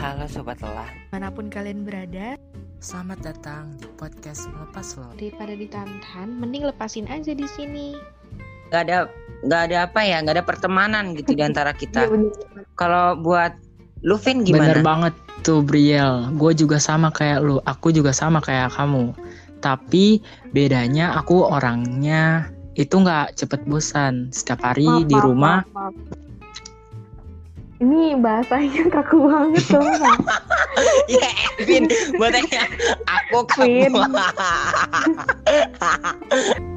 Halo Sobat Lelah. Manapun kalian berada, selamat datang di podcast Melepas Lelah. daripada ditantan, mending lepasin aja di sini. Gak ada pertemanan gitu di antara kita. Iya, Kalau buat Luvin gimana? Bener banget tuh Briel, gue juga sama kayak lu, aku juga sama kayak kamu. Tapi bedanya aku orangnya itu gak cepet bosan. Setiap hari di rumah. Maaf. Ini bahasanya kaku banget tuh. Ya Vin, buat aku kamu.